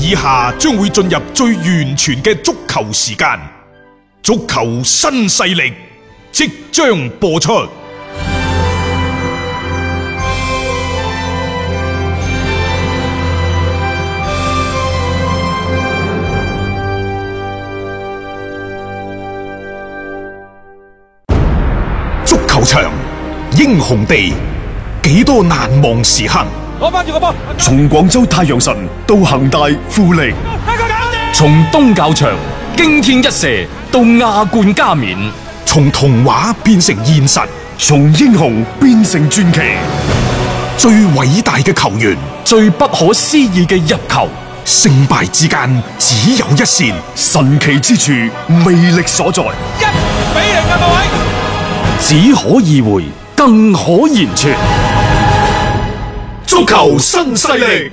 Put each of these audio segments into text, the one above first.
以下將會進入最完全嘅足球時間，足球新勢力即將播出。足球場，英雄地，幾多難忘時刻。 攞翻住個波， 從廣州太陽神到恒大富力， 從東較場驚天一射到亞冠加冕， 從童話變成現實， 從英雄變成傳奇。 最偉大嘅球員， 最不可思議嘅入球， 勝敗之間只有一線， 神奇之處，魅力所在。 1-0啊，各位！ 只可意會，更可言傳。 足球新勢力，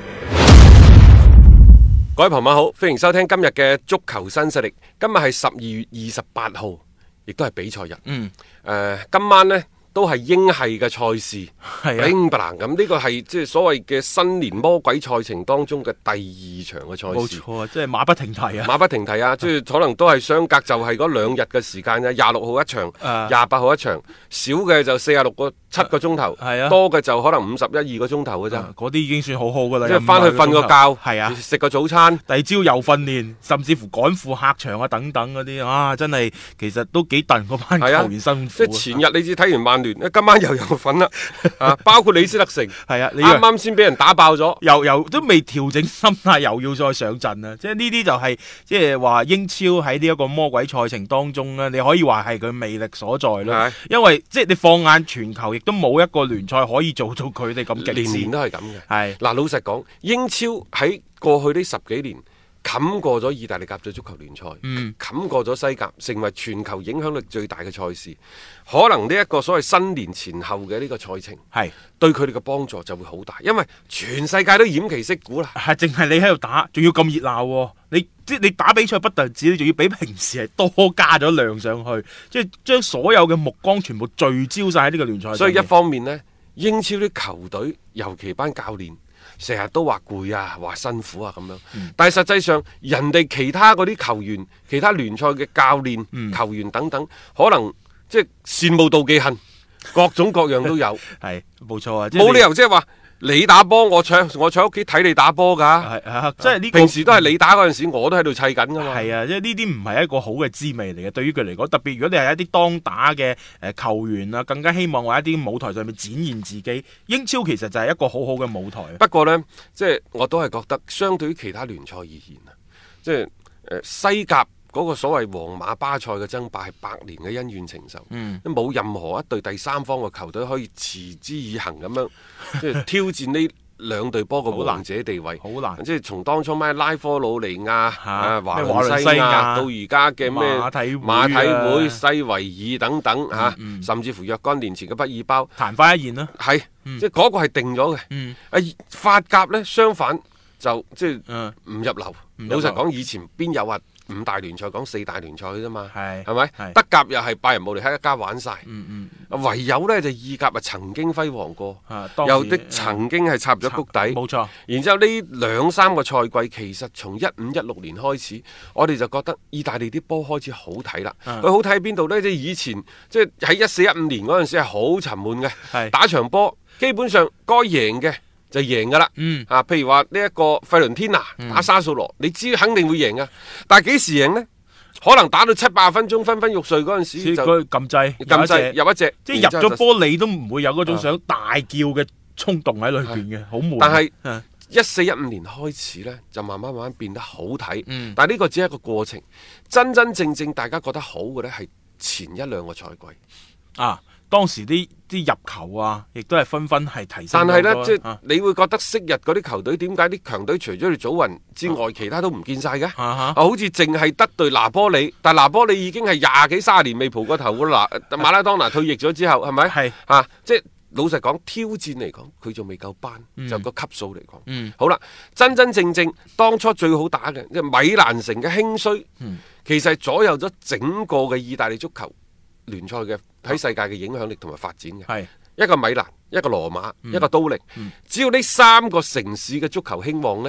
各位朋友好，歡迎收聽今日嘅足球新勢力。今日係12月28號，亦都係比賽日。今晚呢都係英系嘅賽事，英格蘭咁呢個係即係所謂嘅新年魔鬼賽程當中嘅第2場嘅賽事。 冇錯啊，即係馬不停蹄啊！ 馬不停蹄啊！即係可能都係相隔就係嗰2日嘅時間啊，26號一場，28號一場，少嘅就7個鐘頭，多嘅就可能51-2個鐘頭嘅啫。 嗰啲已經算好好噶啦， 即係翻去瞓個覺， 係啊， 食個早餐， 第二朝又訓練，甚至乎趕赴客場啊等等嗰啲啊，真係其實都幾戥嗰班球員辛苦。 即係前日你知睇完曼聯，今晚又有份啦，包括李斯特城， 係啊， 啱啱先俾人打爆咗， 又都未調整心態，又要再上陣啊！即係呢啲就係即係話英超喺呢一個魔鬼賽程當中咧，你可以話係佢魅力所在咯。因為即係你放眼全球，亦都冇一個聯賽可以做到佢哋咁極致， 年年都係咁嘅。 係嗱，老實講，英超喺過去呢10幾年冚過咗意大利甲組足球聯賽，冚過咗西甲，成為全球影響力最大嘅賽事。可能呢一個所謂新年前後嘅呢個賽程，係對佢哋嘅幫助就會好大，因為全世界都偃旗息鼓啦。 係淨係你喺度打，仲要咁熱鬧，你打比賽不但止，你仲要比平時係多加咗量上去，即係將所有嘅目光全部聚焦晒喺呢個聯賽。 所以一方面呢，英超啲球隊，尤其班教練，成日都話攰啊，話辛苦啊咁樣。但係實際上，人哋其他嗰啲球員、其他聯賽嘅教練、球員等等，可能即係羨慕妒忌恨，各種各樣都有。 係冇錯啊， 冇理由即係話你打波，我坐喺屋企睇你打波㗎。 即係呢個平時都係你打嗰陣時，我都喺度砌緊㗎嘛。 係啊，即係呢啲唔係一個好嘅滋味嚟嘅，對於佢嚟講，特別如果你係一啲當打嘅球員啊，更加希望喺一啲舞台上面展現自己。英超其實就係一個好好嘅舞台。 不過呢，即係我都係覺得，相對於其他聯賽而言啊，即係西甲嗰個所謂皇馬巴塞嘅爭霸係100年嘅恩怨情仇，冇任何一隊第三方嘅球隊可以持之以恆咁樣即係挑戰呢兩隊波嘅王者地位， 好難。 即係從當初咩拉科魯尼亞、華倫西亞到而家嘅咩馬體會、西維爾等等甚至乎若干年前嘅畢爾包， 曇花一現啦。 係，即係嗰個係定咗嘅。法甲呢，相反就即係唔入流。老實講，以前邊有話5大聯賽講4大聯賽啫嘛，係咪？德甲又係拜仁慕尼黑一家玩晒，唯有呢就意甲曾經輝煌過，有啲曾經係插入咗谷底， 冇錯。 然之後呢2-3個賽季，其實從15-16年開始，我哋就覺得意大利啲波開始好睇啦。佢好睇喺邊度呢？即係以前即係喺14-15年嗰陣時係好沉悶嘅，打場波基本上該贏嘅就贏噶啦，譬如話呢一個費倫天拿打沙素羅，你知肯定會贏噶，但係幾時贏呢？可能打到70-80分鐘，昏昏欲睡嗰陣時就撳掣入一隻， 即係入咗波你都唔會有嗰種想大叫嘅衝動喺裏邊嘅，好悶。 但係14-15年開始呢，就慢慢變得好睇，但係呢個只係一個過程，真正大家覺得好嘅呢，係前1-2個賽季當時啲入球啊，亦都係紛紛係提升。 但係呢，即係你會覺得昔日嗰啲球隊點解啲強隊除咗你祖雲之外，其他都唔見晒嘅？好似淨係得對拿波里，但拿波里已經係20幾30年未蒲過頭㗎啦。馬拉當拿退役咗之後，係咪？係即係老實講，挑戰嚟講，佢仲未夠班，就個級數嚟講。好啦，真正當初最好打嘅，即係米蘭城嘅興衰，其實係左右咗整個嘅意大利足球聯賽嘅喺世界嘅影響力同埋發展嘅。係一個米蘭，一個羅馬，一個都靈。只要呢3個城市嘅足球興旺呢，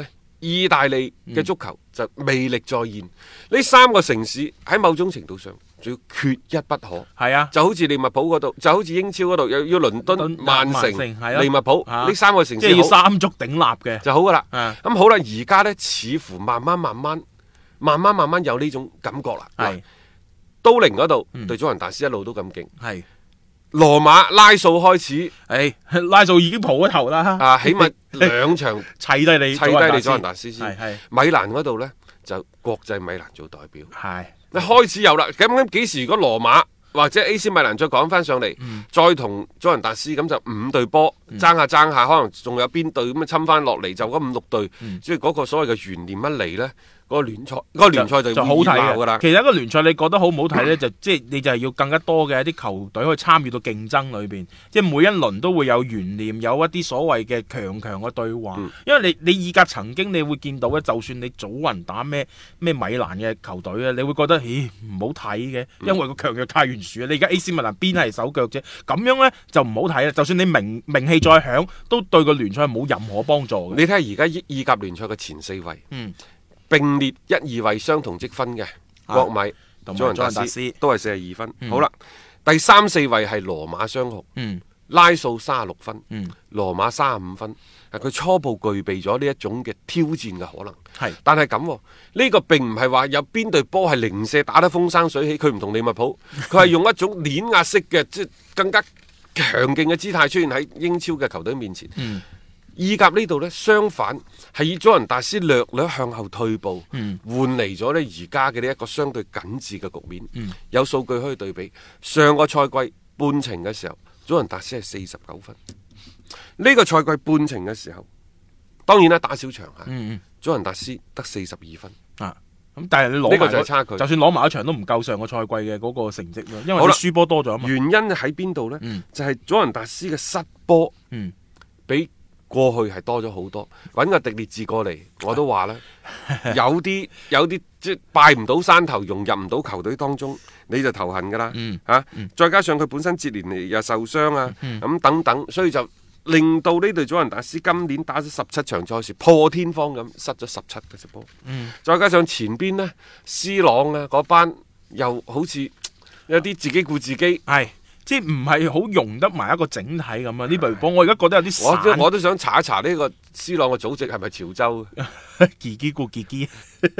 意大利嘅足球就魅力再現。呢3個城市喺某種程度上仲要缺一不可。 係啊， 就好似利物浦嗰度，就好似英超嗰度，又要倫敦、曼城、利物浦呢3個城市， 即係要三足鼎立嘅就好噶啦。咁好啦，而家呢，似乎慢慢有呢種感覺啦。係都靈嗰度對祖雲達斯一路都咁勁。係羅馬拉素開始， 拉素已經蒲咗頭啦。 起碼2場砌低你祖雲達斯先。米蘭嗰度呢，就國際米蘭做代表。 係你開始有啦。咁幾時如果羅馬或者 AC 米蘭再講翻上嚟，再同祖雲達斯，咁就5隊波爭下，可能仲有邊隊咁侵翻落嚟，就嗰5、6隊，即係嗰個所謂嘅懸念一嚟呢，嗰個聯賽就好睇噶啦。 其實一個聯賽你覺得好唔好睇呢？即係你就係要更加多嘅一啲球隊去參與到競爭裏邊，即係每一輪都會有懸念，有一啲所謂嘅強嘅對話。因為你意甲曾經你會見到咧，就算你祖雲打咩米蘭嘅球隊咧，你會覺得唔好睇嘅，因為個強弱太懸殊啊！你而家 AC 米蘭邊係手腳啫，咁樣呢就唔好睇啦。就算你名氣再響，都對個聯賽冇任何幫助嘅。 你睇下而家意甲聯賽嘅前4位，並列1、2位相同積分嘅國米、祖雲達斯都係42分。好啦，第3、4位係羅馬雙雄，拉素36分，羅馬35分。佢初步具備咗呢一種嘅挑戰嘅可能。但係咁呢個並唔係話有邊隊波係零舍打得風生水起，佢唔同利物浦，佢係用一種碾壓式嘅，即係更加強勁嘅姿態出現喺英超嘅球隊面前。意甲呢度呢，相反係以祖雲達斯略向後退步，換嚟咗呢而家嘅呢一個相對緊緻嘅局面。有數據可以對比，上個賽季半程嘅時候，祖雲達斯係49分。呢個賽季半程嘅時候，當然啦，打小場祖雲達斯得42分。 咁但係你攞呢個就係差距， 就算攞埋一場都唔夠上個賽季嘅嗰個成績咯，因為你輸波多咗嘛。 原因喺邊度呢？就係祖雲達斯嘅失波，比過去係多咗好多。揾個迪列治過嚟，我都話啦，有啲即係拜唔到山頭，融入唔到球隊當中，你就頭痕噶啦。再加上佢本身接連嚟又受傷啊，咁等等，所以就令到呢隊祖雲達斯今年打咗17場賽事破天荒咁失咗17嘅隻波。再加上前邊呢，C 朗啊嗰班又好似有啲自己顧自己。 即係唔係好融得埋一個整體咁啊！呢隊波我而家覺得有啲散。 我都想查一查呢個 C 朗嘅祖籍係咪潮州？ 自己顧自己。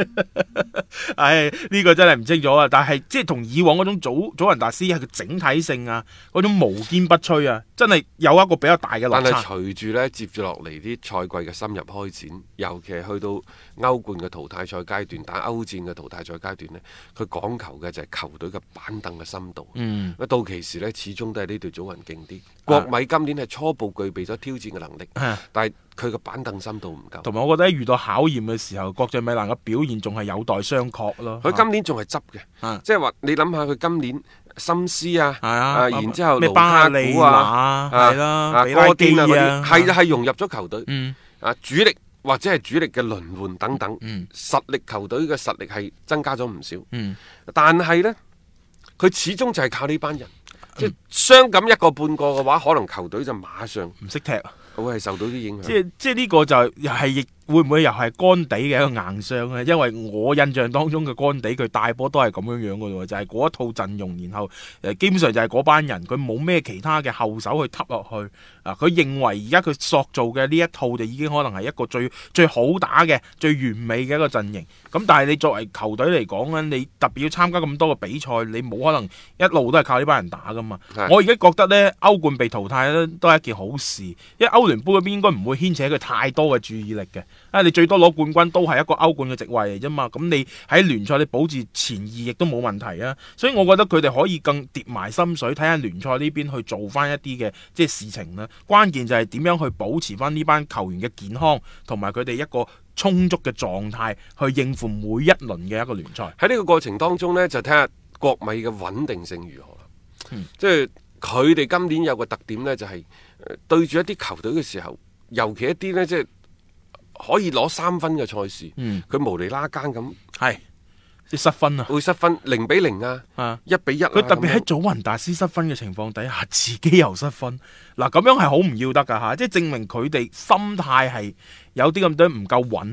呢個真係唔清楚啊！但係即係同以往嗰種祖雲達斯係個整體性啊，嗰種無堅不摧啊，真係有一個比較大嘅落差。 但係隨住呢接住落嚟啲賽季嘅深入開展，尤其係去到歐冠嘅淘汰賽階段，打歐戰嘅淘汰賽階段呢，佢講求嘅就係球隊嘅板凳嘅深度。到期時呢，始終都係呢隊祖雲勁啲。國米今年係初步具備咗挑戰嘅能力，但係佢個板凳深度唔夠。同埋我覺得遇到考驗嘅時候，國際米蘭嘅表現仲係有待商榷咯。佢今年仲係執嘅，即係話你諗下佢今年心思然之後盧卡古哥基啊嗰啲係融入咗球隊，主力或者係主力嘅輪換等等，實力球隊嘅實力係增加咗唔少。但係呢，佢始終就係靠呢班人。即係傷感一個半個嘅話，可能球隊就馬上唔識踢，會係受到啲影響。即係呢個就又係亦會唔會又係干地嘅一個硬傷咧？因為我印象當中嘅干地佢帶波都係咁樣嘅喎，就係嗰一套陣容，然後基本上就係嗰班人，佢冇咩其他嘅後手去揼落去。佢認為而家佢塑造嘅呢一套就已經可能係一個最好打嘅、最完美嘅一個陣型。咁但係你作為球隊嚟講咧，你特別要參加咁多嘅比賽，你冇可能一路都係靠呢班人打噶嘛。我而家覺得呢，歐冠被淘汰咧都係一件好事，因為歐聯杯嗰邊應該唔會牽扯佢太多嘅注意力嘅。你最多攞冠軍都係一個歐冠嘅席位嚟啫嘛。咁你喺聯賽你保住前2亦都冇問題啊。所以我覺得佢哋可以更跌埋心水，睇下聯賽呢邊去做翻一啲嘅即係事情啦。關鍵就係點樣去保持翻呢班球員嘅健康，同埋佢哋一個充足嘅狀態去應付每一輪嘅一個聯賽。喺呢個過程當中呢，就睇下國米嘅穩定性如何啦。即係佢哋今年有個特點呢，就係對住一啲球隊嘅時候，尤其一啲呢，即係可以攞3分嘅賽事，佢無厘啦更咁係。失分啊，會失分0-0啊，1-1。佢特別喺祖雲達斯失分嘅情況底下，自己又失分，嗱咁樣係好唔要得噶吓，即係證明佢哋心態係有啲咁多唔夠穩啊。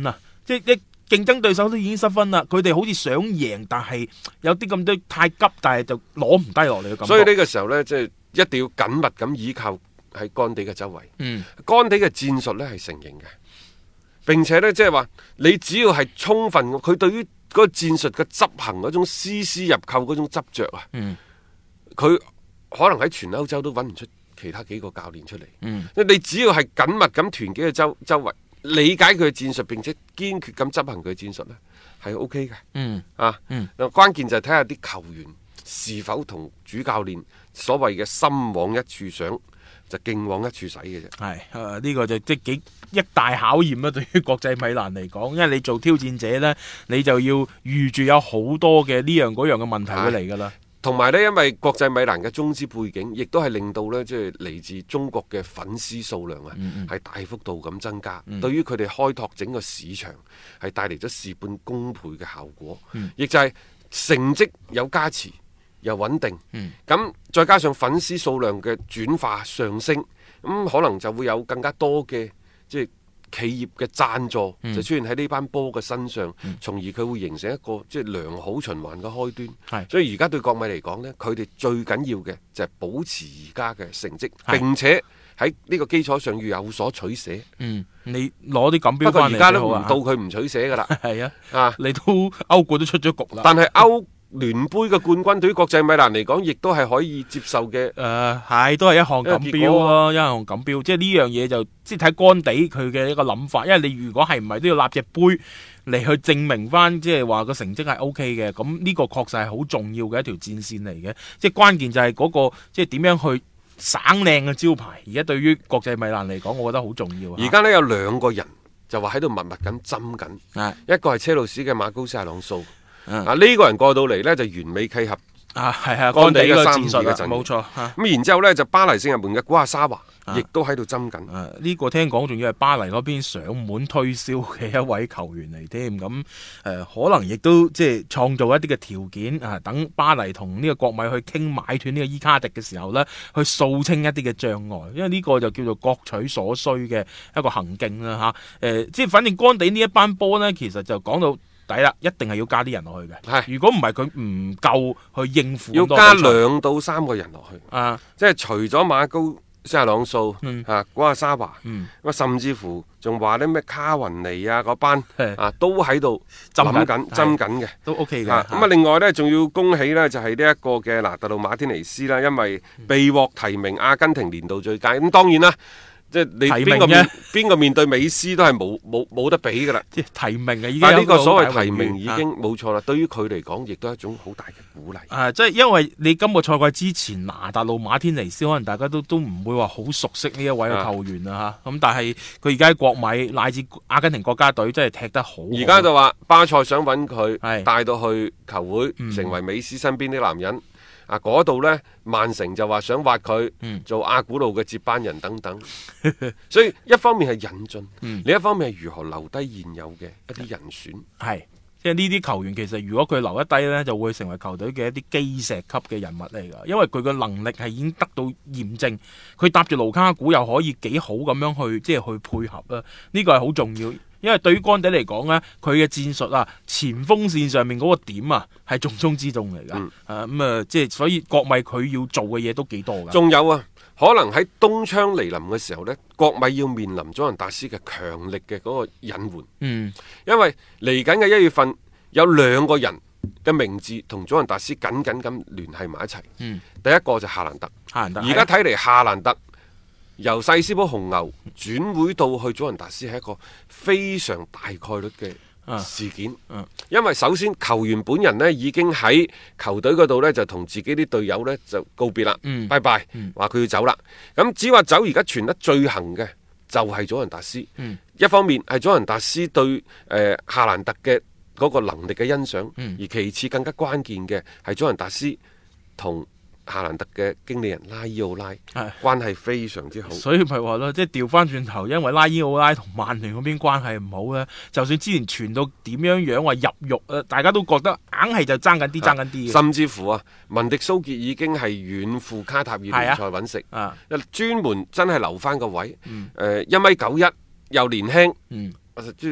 即係一競爭對手都已經失分啦，佢哋好似想贏，但係有啲咁多太急，但係就攞唔低落嚟嘅感覺。 所以呢個時候呢，即係一定要緊密咁依靠喺干地嘅周圍。干地嘅戰術呢係成型嘅，並且呢，即係話你只要係充分，佢對於嗰個戰術嘅執行嗰種絲絲入扣嗰種執着啊，佢可能喺全歐洲都揾唔出其他幾個教練出嚟。你只要係緊密咁團結嘅周圍，理解佢嘅戰術，並且堅決咁執行佢嘅戰術呢，係 O K 嘅。關鍵就係睇下啲球員是否同主教練所謂嘅心往一處想，就勁往一處使嘅啫。 係呢個就即係幾一大考驗啦，對於國際米蘭嚟講，因為你做挑戰者呢，你就要預住有好多嘅呢樣嗰樣嘅問題會嚟噶啦。 同埋呢，因為國際米蘭嘅中資背景，亦都係令到呢，即係嚟自中國嘅粉絲數量啊，係大幅度咁增加。對於佢哋開拓整個市場，係帶嚟咗事半功倍嘅效果。亦就係成績有加持，又穩定。咁再加上粉絲數量嘅轉化上升，咁可能就會有更加多嘅即係企業嘅贊助就出現喺呢班波嘅身上，從而佢會形成一個即係良好循環嘅開端。所以而家對國米嚟講呢，佢哋最緊要嘅就係保持而家嘅成績，並且喺呢個基礎上要有所取捨。 你攞啲錦標翻嚟，不過而家都唔到佢唔取捨噶啦。 係啊，你都歐冠都出咗局啦。 但係歐聯杯嘅冠軍對於國際米蘭嚟講，亦都係可以接受嘅。 係都係一項錦標咯，一項錦標。即係呢樣嘢就即係睇干地佢嘅一個諗法。因為你如果係唔係都要立隻杯嚟去證明翻，即係話個成績係 O K 嘅。咁呢個確實係好重要嘅一條戰線嚟嘅。即係關鍵就係嗰個即係點樣去省靚嘅招牌。而家對於國際米蘭嚟講，我覺得好重要。 而家呢，有兩個人就話喺度密密咁針緊，一個係車路士嘅馬高斯亞朗素。呢個人過到嚟呢，就完美契合干地嘅戰術嘅陣， 冇錯。 咁然之後呢，就巴黎聖日門嘅古亞沙華亦都喺度針緊。 呢個聽講仲要係巴黎嗰邊上門推銷嘅一位球員嚟添。咁可能亦都即係創造一啲嘅條件啊，等巴黎同呢個國米去傾買斷呢個伊卡迪嘅時候呢，去掃清一啲嘅障礙。因為呢個就叫做各取所需嘅一個行徑啦即係反正干地呢一班波呢，其實就講到抵啦，一定係要加啲人落去嘅。如果唔係佢唔夠去應付， 要加2到3個人落去。即係除咗馬高斯亞朗素古亞沙華，甚至乎仲話啲咩卡雲尼啊嗰班都喺度諗緊針緊嘅， 都 OK 嘅。 咁另外呢，仲要恭喜呢，就係呢一個嘅拿特魯馬天尼斯啦，因為被獲提名阿根廷年度最佳。咁當然啦。即係你邊個面對美斯都係冇得比噶啦，即係提名啊！已經呢個所謂提名已經冇錯啦。對於佢嚟講，亦都係一種好大嘅鼓勵。 即係因為你今個賽季之前拿達路馬天尼斯，可能大家都唔會話好熟悉呢一位嘅球員啊嚇。咁但係佢而家喺國米乃至阿根廷國家隊真係踢得好。 而家就話巴塞想揾佢帶到去球會，成為美斯身邊啲男人。嗰度呢，曼城就話想挖佢做阿古路嘅接班人等等，所以一方面係引進，另一方面係如何留低現有嘅一啲人選。 係，即係呢啲球員其實如果佢留一低呢，就會成為球隊嘅一啲基石級嘅人物嚟㗎，因為佢嘅能力係已經得到驗證，佢搭住盧卡古又可以幾好咁樣去即係去配合啊，呢個係好重要。因為對於干地嚟講呢，佢嘅戰術啊，前鋒線上面嗰個點啊，係重中之重嚟噶。即係所以國米佢要做嘅嘢都幾多噶。 仲有啊，可能喺冬窗嚟臨嘅時候呢，國米要面臨祖雲達斯嘅強力嘅嗰個隱患。因為嚟緊嘅1月份有2個人嘅名字同祖雲達斯緊緊咁聯繫埋一齊。第一個就夏蘭特。而家睇嚟夏蘭特由細斯堡紅牛轉會到去祖雲達斯係一個非常大概率嘅事件。因為首先球員本人呢已經喺球隊嗰度呢就同自己啲隊友呢就告別啦，拜拜，話佢要走啦。咁只話走而家傳得最行嘅就係祖雲達斯。一方面係祖雲達斯對夏蘭特嘅嗰個能力嘅欣賞，而其次更加關鍵嘅係祖雲達斯同夏蘭特嘅經理人拉伊奧拉關係非常之好， 所以咪話咯，即係調翻轉頭，因為拉伊奧拉同曼聯嗰邊關係唔好咧，就算之前傳到點樣話入獄，大家都覺得硬係就爭緊啲， 甚至乎啊，文迪蘇傑已經係遠赴卡塔爾聯賽揾食，專門真係留翻個位，1米91又年輕，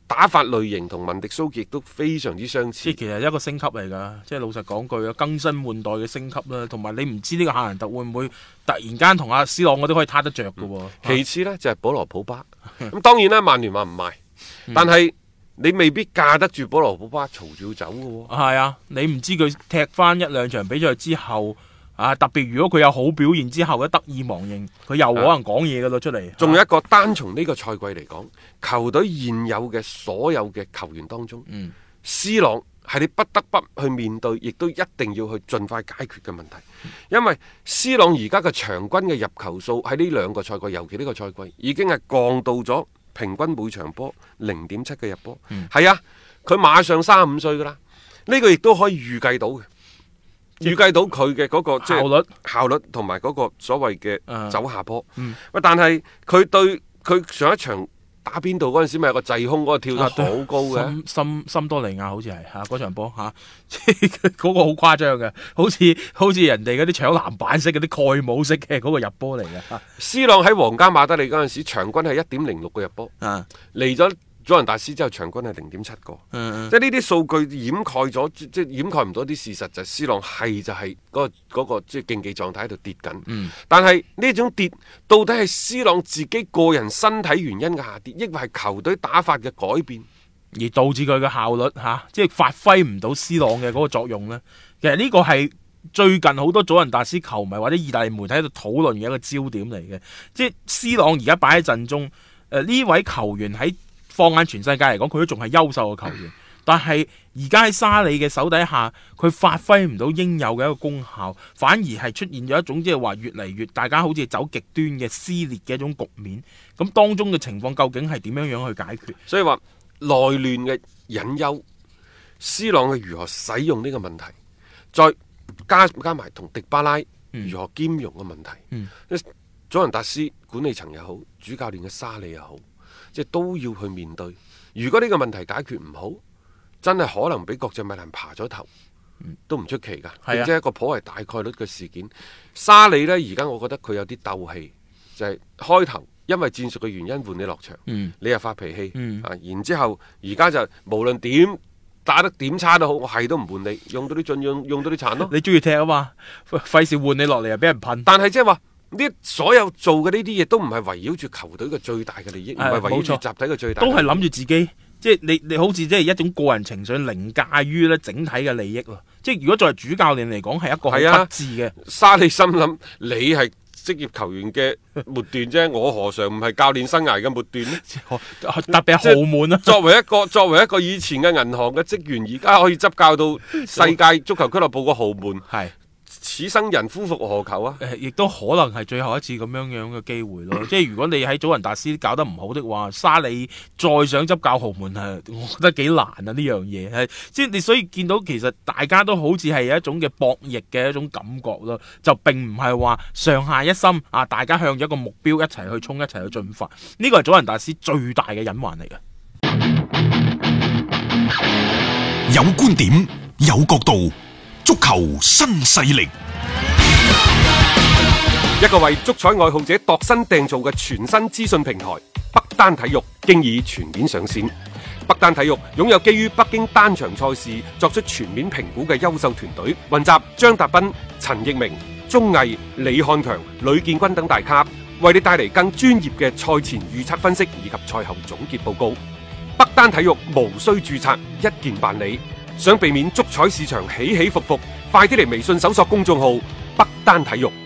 打法類型同文迪蘇傑都非常之相似。 即係其實一個升級嚟㗎，即係老實講句啊，更新換代嘅升級啦，同埋你唔知呢個夏蘭特會唔會突然間同阿 C 朗嗰啲可以攤得着㗎喎。 其次呢，就係保羅普巴，咁當然啦，曼聯話唔賣，但係你未必架得住保羅普巴嘈住要走㗎喎。 係啊，你唔知佢踢翻一兩場比賽之後。特別如果佢有好表現之後咧，得意忘形，佢又可能講嘢噶咯出嚟。 仲有一個單從呢個賽季嚟講，球隊現有嘅所有嘅球員當中，C 朗係你不得不去面對，亦都一定要去盡快解決嘅問題。因為 C 朗而家嘅場均嘅入球數喺呢兩個賽季，尤其呢個賽季已經係降到咗平均每場波0.7嘅入波。係啊，佢馬上35歲噶啦，呢個亦都可以預計到嘅。預計到佢嘅嗰個即係效率同埋嗰個所謂嘅走下坡。但係佢對佢上一場打邊度嗰陣時，咪有個滯空嗰個跳得好高嘅， 森多利亞好似係嚇嗰場波嚇，嗰個好誇張嘅，好似人哋嗰啲搶籃板式嗰啲蓋帽式嘅嗰個入波嚟嘅。 C 朗喺皇家馬德里嗰陣時，場均係1.06個入波，嚟咗祖雲達斯之後場均係0.7個，即係呢啲數據掩蓋咗，即係掩蓋唔到啲事實，就係 C 朗係就係嗰個即係競技狀態喺度跌緊。但係呢種跌到底係 C 朗自己個人身體原因嘅下跌，抑或係球隊打法嘅改變， 而導致佢嘅效率即係發揮唔到 C 朗嘅嗰個作用呢？其實呢個係最近好多祖雲達斯球迷或者意大利媒體喺度討論嘅一個焦點嚟嘅，即係 C 朗而家擺喺陣中，呢位球員喺放眼全世界嚟講，佢都仲係優秀嘅球員，但係而家喺沙利嘅手底下，佢發揮唔到應有嘅一個功效，反而係出現咗一種即係話越嚟越大家好似走極端嘅撕裂嘅一種局面。咁當中嘅情況究竟係點樣樣去解決？ 所以話內亂嘅隱憂，C 朗嘅如何使用呢個問題，再加埋同迪巴拉如何兼容嘅問題。祖雲達斯管理層又好，主教練嘅沙利又好，即係都要去面對。如果呢個問題解決唔好，真係可能俾國際米蘭爬咗頭，都唔出奇㗎。並且一個頗為大概率嘅事件。沙利呢，而家我覺得佢有啲鬥氣，就係開頭因為戰術嘅原因換你落場，你又發脾氣，然之後而家就無論點打得點差都好，我係都唔換你，用到啲盡用到啲殘咯。 你中意踢啊嘛，費事換你落嚟又俾人噴。 但係即係話。呢所有做嘅呢啲嘢都唔係圍繞住球隊嘅最大嘅利益，唔係圍繞住集體嘅最大， 都係諗住自己，即係你好似即係一種個人情緒凌駕於咧整體嘅利益咯。即係如果作為主教練嚟講，係一個好不智嘅。 沙利心諗你係職業球員嘅末段啫，我何嘗唔係教練生涯嘅末段呢？ 特別係豪門啊！ 作為一個以前嘅銀行嘅職員，而家可以執教到世界足球俱樂部嘅豪門，係。此生人夫復何求啊！ 亦都可能係最後一次咁樣嘅機會咯。即係如果你喺祖雲達斯搞得唔好的話，沙利再想執教豪門我覺得幾難啊！呢樣嘢係即係你所以見到其實大家都好似係有一種嘅博弈嘅一種感覺咯，就並唔係話上下一心大家向咗一個目標一齊去衝，一齊去進發。呢個係祖雲達斯最大嘅隱患嚟嘅。 有觀點，有角度。足球新勢力， 一個為足彩愛好者度身訂造嘅全新資訊平台北單體育經已全面上線。北單體育擁有基於北京單場賽事作出全面評估嘅優秀團隊，雲集張達斌、陳奕明、鐘毅、李漢強、呂建軍等大咖，為你帶嚟更專業嘅賽前預測分析以及賽後總結報告。北單體育無需註冊，一鍵辦理。想避免足彩市場起起伏伏，快啲嚟微信搜索公眾號北單體育。